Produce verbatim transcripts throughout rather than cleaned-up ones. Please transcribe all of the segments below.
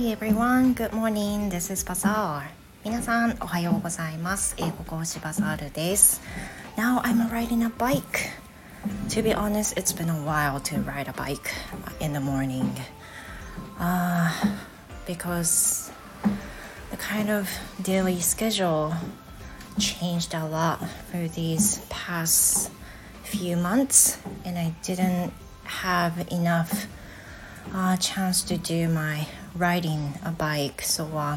Hi everyone, good morning. This is Bazaar. 皆さんおはようございます。英語講師バザールです。Now I'm riding a bike. To be honest, it's been a while to ride a bike in the morning. Uh, because the kind of daily schedule changed a lot for these past few months, and I didn't have enough uh, chance to do my riding a bike. So uh,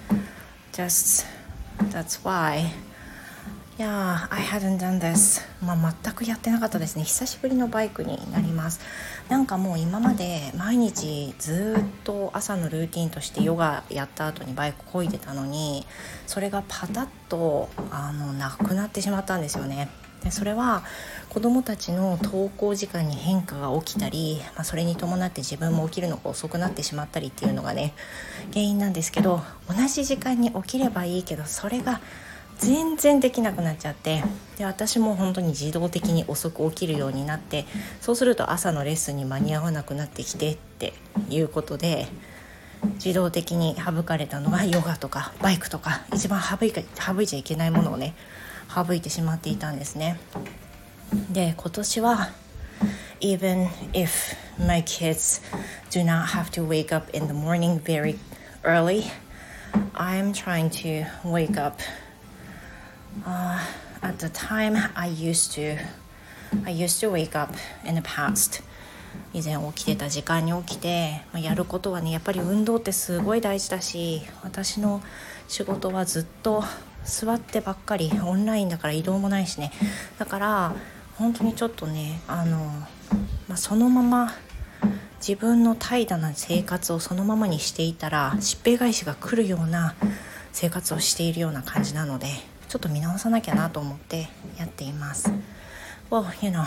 just that's why. Yeah, I hadn't done this. まあ、全くやってなかったですね。久しぶりのバイクになります。なんかもう今まで毎日ずっと朝のルーティンとしてヨガやった後にバイク漕いでたのに、それがパタッとあのなくなってしまったんですよね。でそれは子どもたちの登校時間に変化が起きたり、まあ、それに伴って自分も起きるのが遅くなってしまったりっていうのがね原因なんですけど、同じ時間に起きればいいけどそれが全然できなくなっちゃって、で私も本当に自動的に遅く起きるようになって、そうすると朝のレッスンに間に合わなくなってきてっていうことで、自動的に省かれたのがヨガとかバイクとか、一番省いか省いちゃいけないものをね省いてしまっていたんですね。で今年は Even if my kids do not have to wake up in the morning very early, I'm trying to wake up、uh, at the time I used to I used to wake up in the past. 以前起きてた時間に起きて、まあ、やることはねやっぱり運動ってすごい大事だし、私の仕事はずっと座ってばっかり、オンラインだから移動もないしね、だから本当にちょっとねあの、まあ、そのまま自分の怠惰な生活をそのままにしていたらしっぺ返しが来るような生活をしているような感じなので、ちょっと見直さなきゃなと思ってやっています。 Well, you know,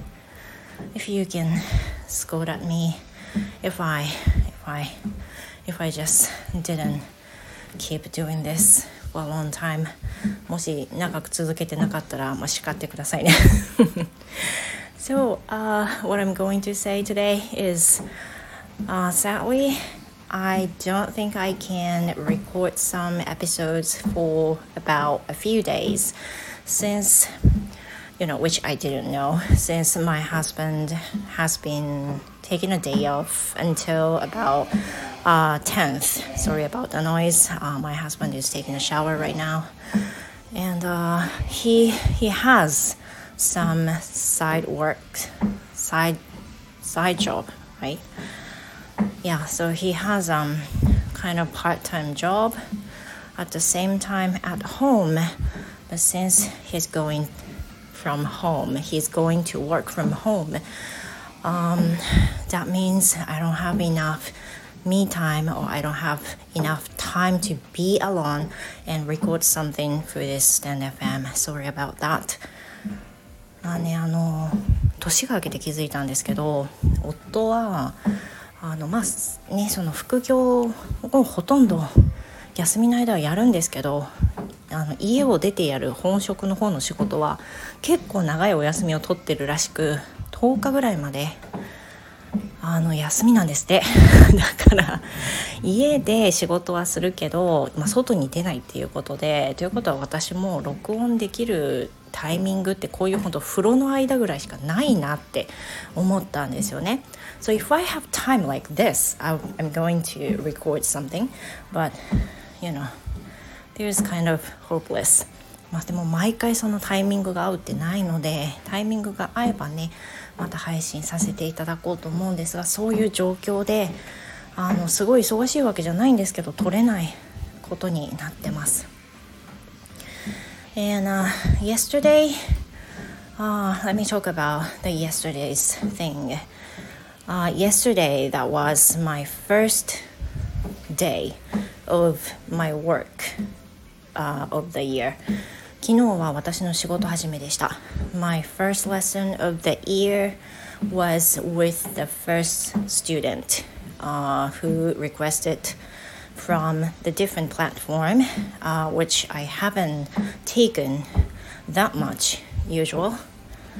if you can scold at me if I if I if I just didn't keep doing this for a long time. もし長く続けてなかったら、まあ、叱ってくださいね。So, uh, what I'm going to say today is, uh, sadly, I don't think I can record some episodes for about a few days since, you know, which I didn't know, since my husband has been taking a day off until about uh, tenth. Sorry about the noise. Uh, my husband is taking a shower right now. And uh, he he has some side work, side side job, right? Yeah, so he has um kind of part-time job at the same time at home. But since he's going from home, he's going to work from home. Um, that means I don't have enough me time, or I don't have enough time to be alone and record something for this Stand エフエム. Sorry about that. まあね、あの年が明けて気づいたんですけど、夫はあのまあねその副業をほとんど休みの間はやるんですけど、あの家を出てやる本職の方の仕事は結構長いお休みを取ってるらしく、とおかぐらいまであの休みなんですってだから家で仕事はするけど、まあ、外に出ないっていうことで、ということは私も録音できるタイミングってこういう本当風呂の間ぐらいしかないなって思ったんですよね。 So if I have time like this, I'm going to record something, but you know, there's kind of hopeless. まあでも毎回そのタイミングが合うってないので、タイミングが合えばねまた配信させていただこうと思うんですが、そういう状況であのすごい忙しいわけじゃないんですけど撮れないことになってます。 And uh, yesterday, uh, let me talk about the yesterday's thing. Uh, yesterday, that was my first day of my work、uh, of the year. 昨日は私の仕事始めでした。 My first lesson of the year was with the first student、uh, who requested from the different platform、uh, which I haven't taken that much usual.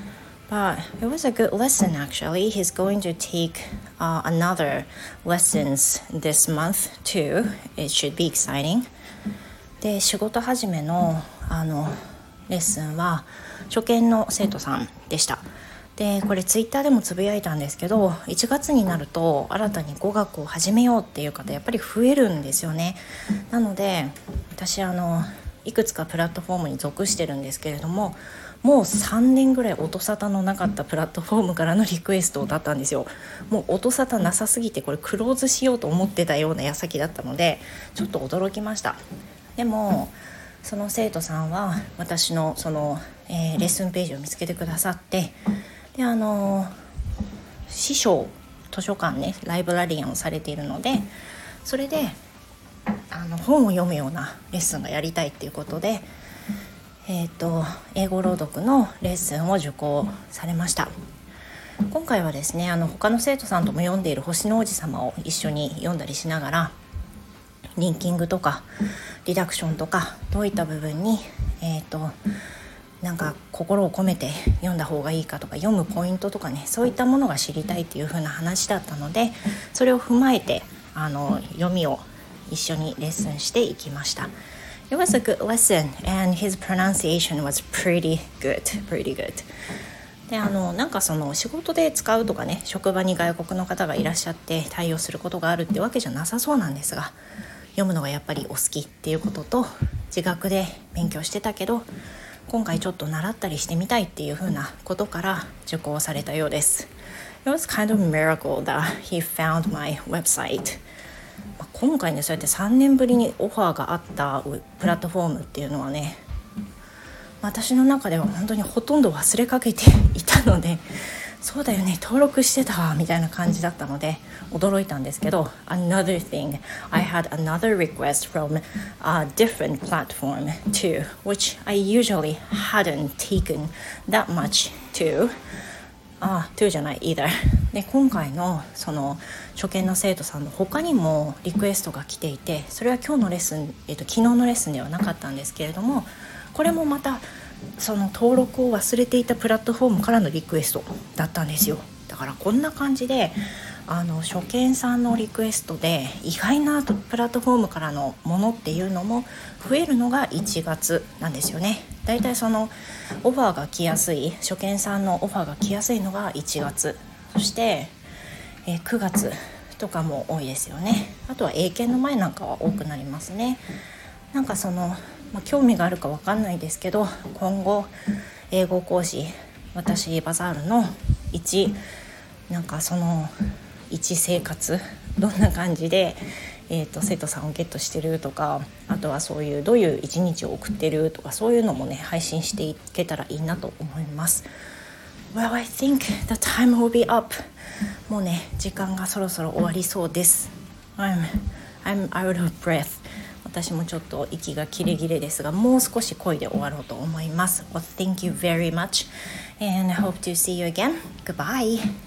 But it was a good lesson actually. He's going to take uh, another lessons this month too. It should be exciting. で、仕事始めのあのレッスンは初見の生徒さんでした。で、これツイッターでもつぶやいたんですけど、いちがつになると新たに語学を始めようっていう方やっぱり増えるんですよね。なので私あのいくつかプラットフォームに属してるんですけれども、もうさんねんぐらい音沙汰のなかったプラットフォームからのリクエストだったんですよ。もう音沙汰なさすぎてこれクローズしようと思ってたような矢先だったのでちょっと驚きました。でもその生徒さんは私のその、えー、レッスンページを見つけてくださって、であのー、師匠図書館ねライブラリアンをされているので、それであの本を読むようなレッスンがやりたいっていうことで、えーと、英語朗読のレッスンを受講されました。今回はですね、あの他の生徒さんとも読んでいる星の王子様を一緒に読んだりしながら、リンキングとかリダクションとかどういった部分に、えーと、なんか心を込めて読んだ方がいいかとか、読むポイントとかね、そういったものが知りたいっていう風な話だったので、それを踏まえてあの読みを一緒にレッスンしていきました。It was a good lesson and his pronunciation was pretty good, pretty good. で、あのなんかその仕事で使うとかね、職場に外国の方がいらっしゃって対応することがあるってわけじゃなさそうなんですが、読むのがやっぱりお好きっていうことと、自学で勉強してたけど今回ちょっと習ったりしてみたいっていう風なことから受講されたようです。It was kind of a miracle that he found my website.今回ね、そうやってさんねんぶりにオファーがあったプラットフォームっていうのはね、私の中では本当にほとんど忘れかけていたので、そうだよね、登録してたわみたいな感じだったので驚いたんですけど、 Another thing, I had another request from a different platform too, which I usually hadn't taken that much toああ、トゥーじゃないeither で、今回のその初見の生徒さんの他にもリクエストが来ていて、それは今日のレッスン、えっと、昨日のレッスンではなかったんですけれども、これもまたその登録を忘れていたプラットフォームからのリクエストだったんですよ。だからこんな感じであの初見さんのリクエストで意外なプラットフォームからのものっていうのも増えるのがいちがつなんですよね。だいたいそのオファーが来やすい、初見さんのオファーが来やすいのがいちがつ、そして、えー、くがつとかも多いですよね。あとは英検の前なんかは多くなりますね。なんかその、まあ、興味があるか分かんないですけど、今後英語講師、私バザールの一なんかその一生活どんな感じで、えー、と生徒さんをゲットしてるとか、あとはそういうどういう一日を送ってるとか、そういうのもね配信していけたらいいなと思います。 Well, I think the time will be up. もうね時間がそろそろ終わりそうです。 I'm, I'm out of breath. 私もちょっと息が切れ切れですが、もう少し声で終わろうと思います。 Well, thank you very much and I hope to see you again. Goodbye.